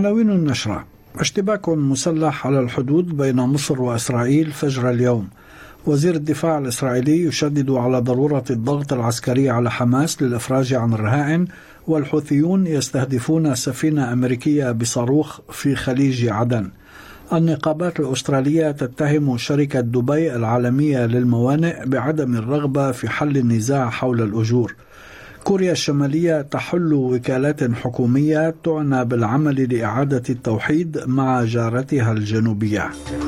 عناوين النشرة: اشتباك مسلح على الحدود بين مصر وإسرائيل فجر اليوم. وزير الدفاع الإسرائيلي يشدد على ضرورة الضغط العسكري على حماس للإفراج عن الرهائن، والحوثيون يستهدفون سفينة أمريكية بصاروخ في خليج عدن. النقابات الأسترالية تتهم شركة دبي العالمية للموانئ بعدم الرغبة في حل النزاع حول الأجور. كوريا الشمالية تحل وكالات حكومية تعنى بالعمل لإعادة التوحيد مع جارتها الجنوبية.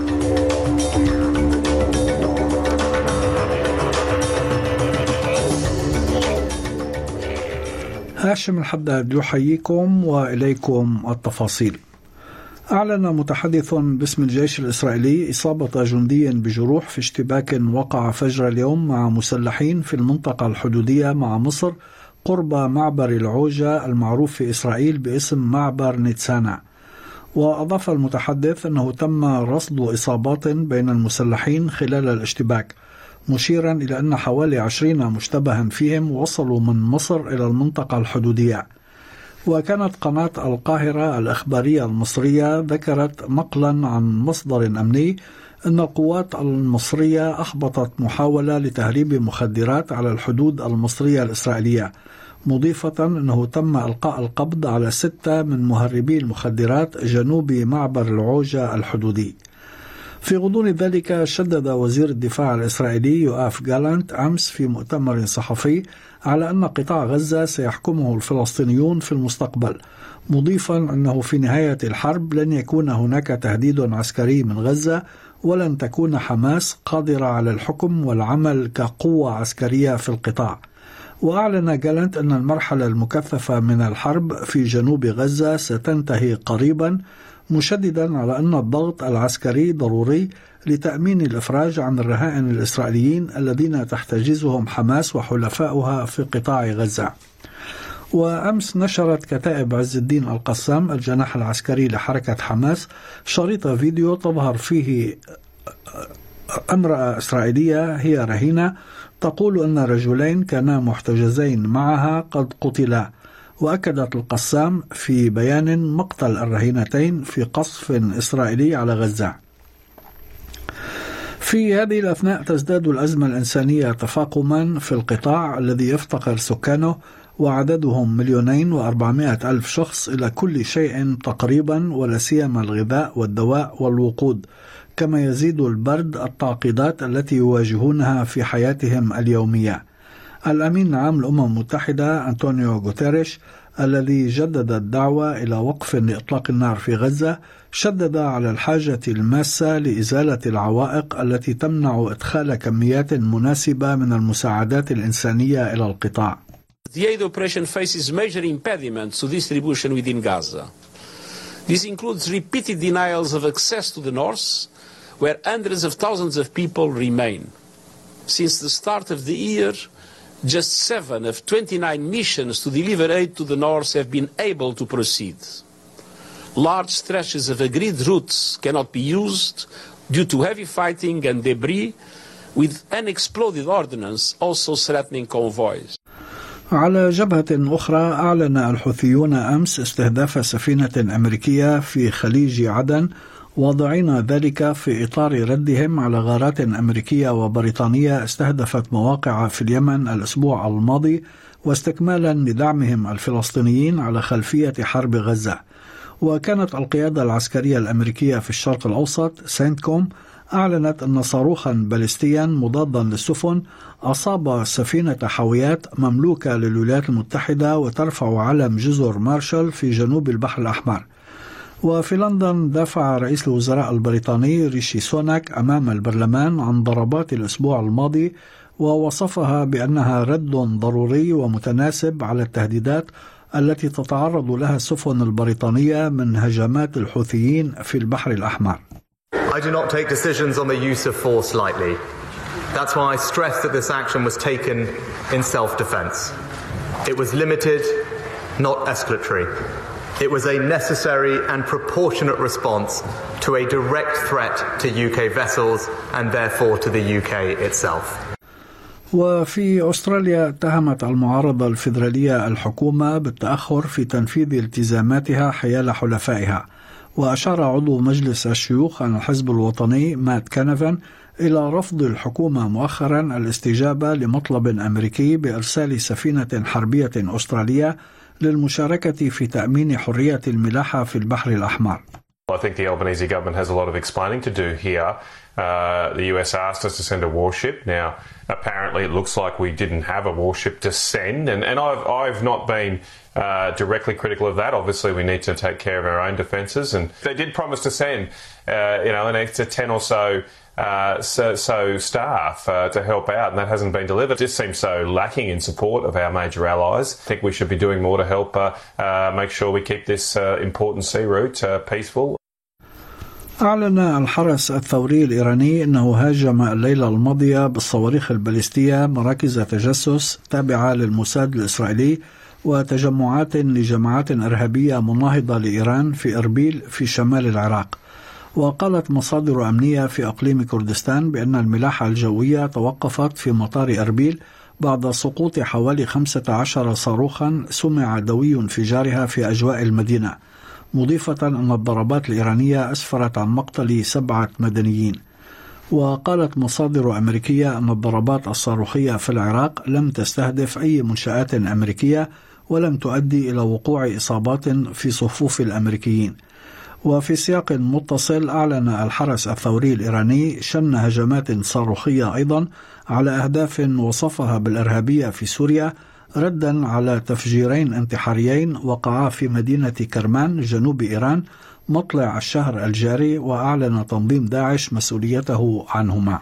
هاشم الحداد يحييكم وإليكم التفاصيل. أعلن متحدث باسم الجيش الإسرائيلي إصابة جندي بجروح في اشتباك وقع فجر اليوم مع مسلحين في المنطقة الحدودية مع مصر قرب معبر العوجة المعروف في إسرائيل باسم معبر نيتسانا. وأضاف المتحدث أنه تم رصد إصابات بين المسلحين خلال الاشتباك، مشيرا إلى أن حوالي 20 مشتبها فيهم وصلوا من مصر إلى المنطقة الحدودية. وكانت قناة القاهرة الإخبارية المصرية ذكرت نقلا عن مصدر أمني أن القوات المصرية أحبطت محاولة لتهريب مخدرات على الحدود المصرية الإسرائيلية، مضيفة أنه تم إلقاء القبض على 6 من مهربي المخدرات جنوب معبر العوجة الحدودي. في غضون ذلك شدد وزير الدفاع الإسرائيلي يؤاف جالانت أمس في مؤتمر صحفي على أن قطاع غزة سيحكمه الفلسطينيون في المستقبل، مضيفا أنه في نهاية الحرب لن يكون هناك تهديد عسكري من غزة، ولن تكون حماس قادرة على الحكم والعمل كقوة عسكرية في القطاع. وأعلن جالانت أن المرحلة المكثفة من الحرب في جنوب غزة ستنتهي قريبا، مشددا على أن الضغط العسكري ضروري لتأمين الإفراج عن الرهائن الإسرائيليين الذين تحتجزهم حماس وحلفاؤها في قطاع غزة. وأمس نشرت كتائب عز الدين القسام الجناح العسكري لحركة حماس شريط فيديو تظهر فيه امرأة إسرائيلية هي رهينة تقول أن رجلين كانا محتجزين معها قد قتلا. وأكدت القسام في بيان مقتل الرهينتين في قصف إسرائيلي على غزة. في هذه الأثناء تزداد الأزمة الإنسانية تفاقما في القطاع الذي يفتقر سكانه وعددهم 2,400,000 شخص إلى كل شيء تقريبا، ولا سيما الغذاء والدواء والوقود، كما يزيد البرد التعقيدات التي يواجهونها في حياتهم اليومية. الأمين العام للأمم المتحدة أنطونيو غوتيريش الذي جدد الدعوة إلى وقف لإطلاق النار في غزة شدد على الحاجة الماسة لإزالة العوائق التي تمنع إدخال كميات مناسبة من المساعدات الإنسانية إلى القطاع. The aid operation faces major impediments to distribution within Gaza. This includes repeated denials of access to the north, where hundreds of thousands of people remain. Since the start of the year, just 7 of 29 missions to deliver aid to the north have been able to proceed. Large stretches of agreed routes cannot be used due to heavy fighting and debris, with unexploded ordnance also threatening convoys. على جبهة أخرى، أعلن الحوثيون أمس استهداف سفينة أمريكية في خليج عدن، واضعين ذلك في إطار ردهم على غارات أمريكية وبريطانية استهدفت مواقع في اليمن الأسبوع الماضي، واستكمالا لدعمهم الفلسطينيين على خلفية حرب غزة. وكانت القيادة العسكرية الأمريكية في الشرق الأوسط سينتكوم أعلنت أن صاروخا باليستيا مضادا للسفن أصاب سفينة حاويات مملوكة للولايات المتحدة وترفع علم جزر مارشال في جنوب البحر الأحمر. وفي لندن دافع رئيس الوزراء البريطاني ريشي سوناك أمام البرلمان عن ضربات الأسبوع الماضي، ووصفها بأنها رد ضروري ومتناسب على التهديدات التي تتعرض لها السفن البريطانية من هجمات الحوثيين في البحر الأحمر. I do not take decisions on the use of force lightly. That's why I stress that this action was taken in self-defense. It was limited, not escalatory. It was a necessary and proportionate response to a direct threat to UK vessels and therefore to the UK itself. وفي أستراليا اتهمت المعارضة الفيدرالية الحكومة بالتأخر في تنفيذ التزاماتها حيال حلفائها، وأشار عضو مجلس الشيوخ عن الحزب الوطني مات كانافان إلى رفض الحكومة مؤخرا الاستجابة لمطلب أمريكي بإرسال سفينة حربية أسترالية للمشاركة في تأمين حرية الملاحة في البحر الأحمر. I think the Albanese government has a lot of explaining to do here. The US asked us to send a warship. Now, apparently it looks like we didn't have a warship to send, and I've not been directly critical of that. Obviously, we need to take care of our own defences, and they did promise to send, an extra 10 or so staff to help out, and that hasn't been delivered. It just seems so lacking in support of our major allies. I think we should be doing more to help make sure we keep this important sea route peaceful. أعلن الحرس الثوري الإيراني أنه هاجم الليلة الماضية بالصواريخ الباليستية مراكز تجسس تابعة للموساد الإسرائيلي وتجمعات لجماعات إرهابية مناهضة لإيران في إربيل في شمال العراق. وقالت مصادر أمنية في أقليم كردستان بأن الملاحة الجوية توقفت في مطار إربيل بعد سقوط حوالي 15 صاروخا سمع دوي انفجارها في أجواء المدينة، مضيفة أن الضربات الإيرانية أسفرت عن مقتل 7 مدنيين. وقالت مصادر أمريكية أن الضربات الصاروخية في العراق لم تستهدف أي منشآت أمريكية ولم تؤدي إلى وقوع إصابات في صفوف الأمريكيين. وفي سياق متصل أعلن الحرس الثوري الإيراني شن هجمات صاروخية أيضا على أهداف وصفها بالإرهابية في سوريا، ردا على تفجيرين انتحاريين وقعا في مدينة كرمان جنوب إيران مطلع الشهر الجاري، وأعلن تنظيم داعش مسؤوليته عنهما.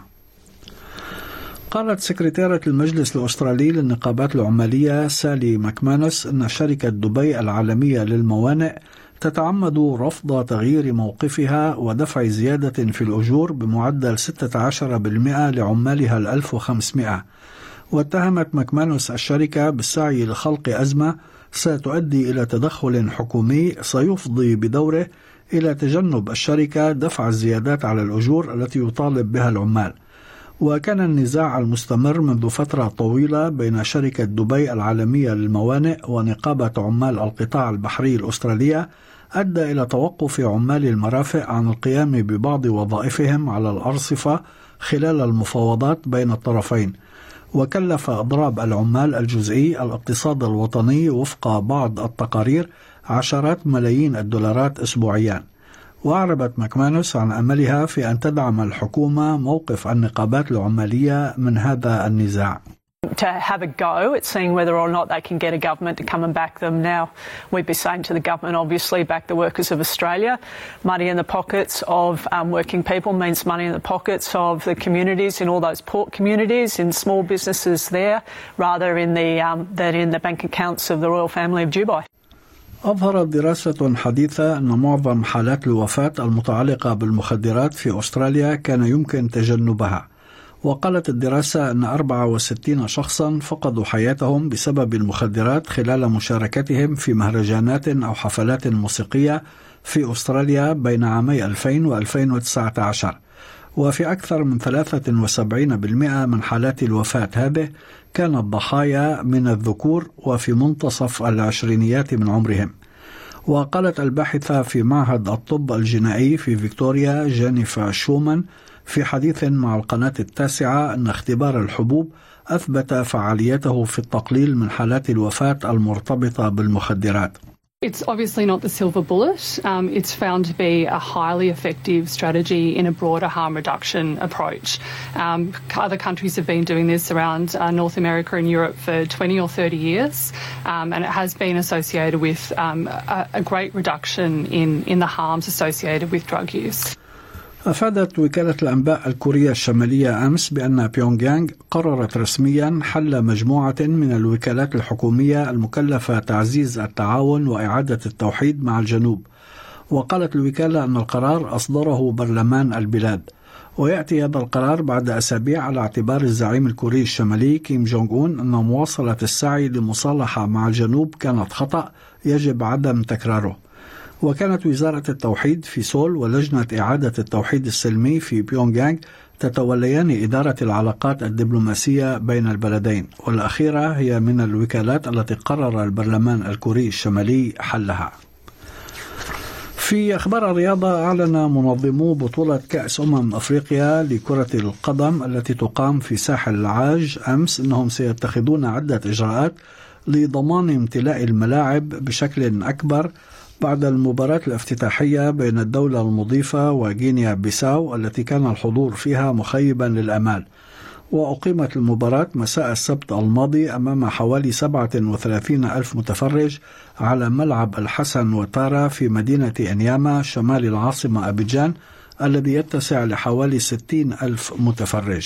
قالت سكرتيرة المجلس الأسترالي للنقابات العمالية سالي ماكمانس أن شركة دبي العالمية للموانئ تتعمد رفض تغيير موقفها ودفع زيادة في الأجور بمعدل 16% لعمالها 1500. واتهمت ماكمانوس الشركة بالسعي لخلق أزمة ستؤدي إلى تدخل حكومي سيفضي بدوره إلى تجنب الشركة دفع الزيادات على الأجور التي يطالب بها العمال. وكان النزاع المستمر منذ فترة طويلة بين شركة دبي العالمية للموانئ ونقابة عمال القطاع البحري الأسترالية أدى إلى توقف عمال المرافق عن القيام ببعض وظائفهم على الأرصفة خلال المفاوضات بين الطرفين، وكلف إضراب العمال الجزئي الاقتصاد الوطني وفق بعض التقارير عشرات ملايين الدولارات أسبوعيا. وأعربت ماكمانوس عن أملها في أن تدعم الحكومة موقف النقابات العمالية من هذا النزاع. To have a go at seeing whether or not they can get a government to come and back them. Now, we'd be saying to the government, obviously, back the workers of Australia. Money in the pockets of working people means money in the pockets of the communities, in all those port communities, in small businesses there, rather than in the bank accounts of the royal family of Dubai. أظهرت دراسة حديثة أن معظم حالات الوفاة المتعلقة بالمخدرات في أستراليا كان يمكن تجنبها. وقالت الدراسة أن 64 شخصا فقدوا حياتهم بسبب المخدرات خلال مشاركتهم في مهرجانات أو حفلات موسيقية في أستراليا بين عامي 2000 و 2019. وفي أكثر من 73% من حالات الوفاة هذه كانت ضحايا من الذكور وفي منتصف العشرينيات من عمرهم. وقالت الباحثة في معهد الطب الجنائي في فيكتوريا جينيفر شومان في حديث مع القناة التاسعة أن اختبار الحبوب أثبت فعاليته في التقليل من حالات الوفاة المرتبطة بالمخدرات. It's obviously not the silver bullet. It's found to be a highly effective strategy in a broader harm reduction approach. Other countries have been doing this around North America and Europe for 20 or 30 years, and it has been associated with a great reduction in the harms associated with drug use. أفادت وكالة الأنباء الكورية الشمالية أمس بأن بيونغ يانغ قررت رسميا حل مجموعة من الوكالات الحكومية المكلفة تعزيز التعاون وإعادة التوحيد مع الجنوب. وقالت الوكالة أن القرار أصدره برلمان البلاد، ويأتي هذا القرار بعد أسابيع على اعتبار الزعيم الكوري الشمالي كيم جونغ أون أن مواصلة السعي لمصالحة مع الجنوب كانت خطأ يجب عدم تكراره. وكانت وزارة التوحيد في سول ولجنة إعادة التوحيد السلمي في بيونغ يانغ تتوليان إدارة العلاقات الدبلوماسية بين البلدين، والأخيرة هي من الوكالات التي قرر البرلمان الكوري الشمالي حلها. في أخبار الرياضة، أعلن منظمو بطولة كأس أفريقيا لكرة القدم التي تقام في ساحل العاج أمس أنهم سيتخذون عدة إجراءات لضمان امتلاء الملاعب بشكل أكبر بعد المباراة الافتتاحية بين الدولة المضيفة وغينيا بيساو التي كان الحضور فيها مخيبا للآمال. وأقيمت المباراة مساء السبت الماضي أمام حوالي 37 ألف متفرج على ملعب الحسن وتارا في مدينة إنياما شمال العاصمة أبيجان الذي يتسع لحوالي 60 ألف متفرج.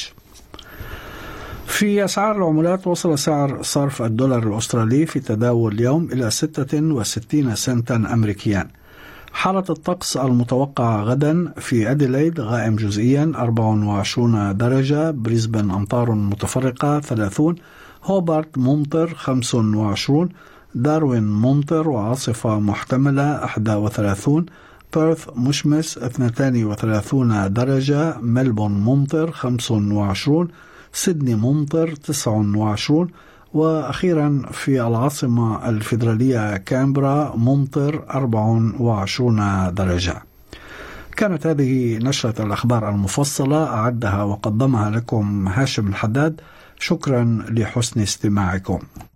في أسعار العملات، وصل سعر صرف الدولار الأسترالي في تداول اليوم إلى 66 سنتا أمريكيا. حالة الطقس المتوقعة غدا: في أديلايد غائم جزئيا 24 درجة، بريسبن أمطار متفرقة 30، هوبارت ممطر 25، داروين ممطر وعاصفة محتملة 31، بيرث مشمس 32 درجة، ملبون ممطر 25، سيدني ممطر 29، وأخيرا في العاصمة الفيدرالية كامبرا ممطر 24 درجة. كانت هذه نشرة الأخبار المفصلة، أعدها وقدمها لكم هاشم الحداد. شكرا لحسن استماعكم.